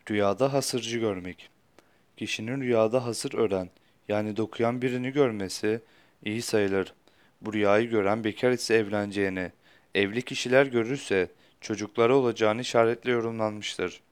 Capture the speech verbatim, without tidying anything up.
Rüyada hasırcı görmek. Kişinin rüyada hasır ören, yani dokuyan birini görmesi iyi sayılır. Bu rüyayı gören bekar ise evleneceğini, evli kişiler görürse çocukları olacağını işaretle yorumlanmıştır.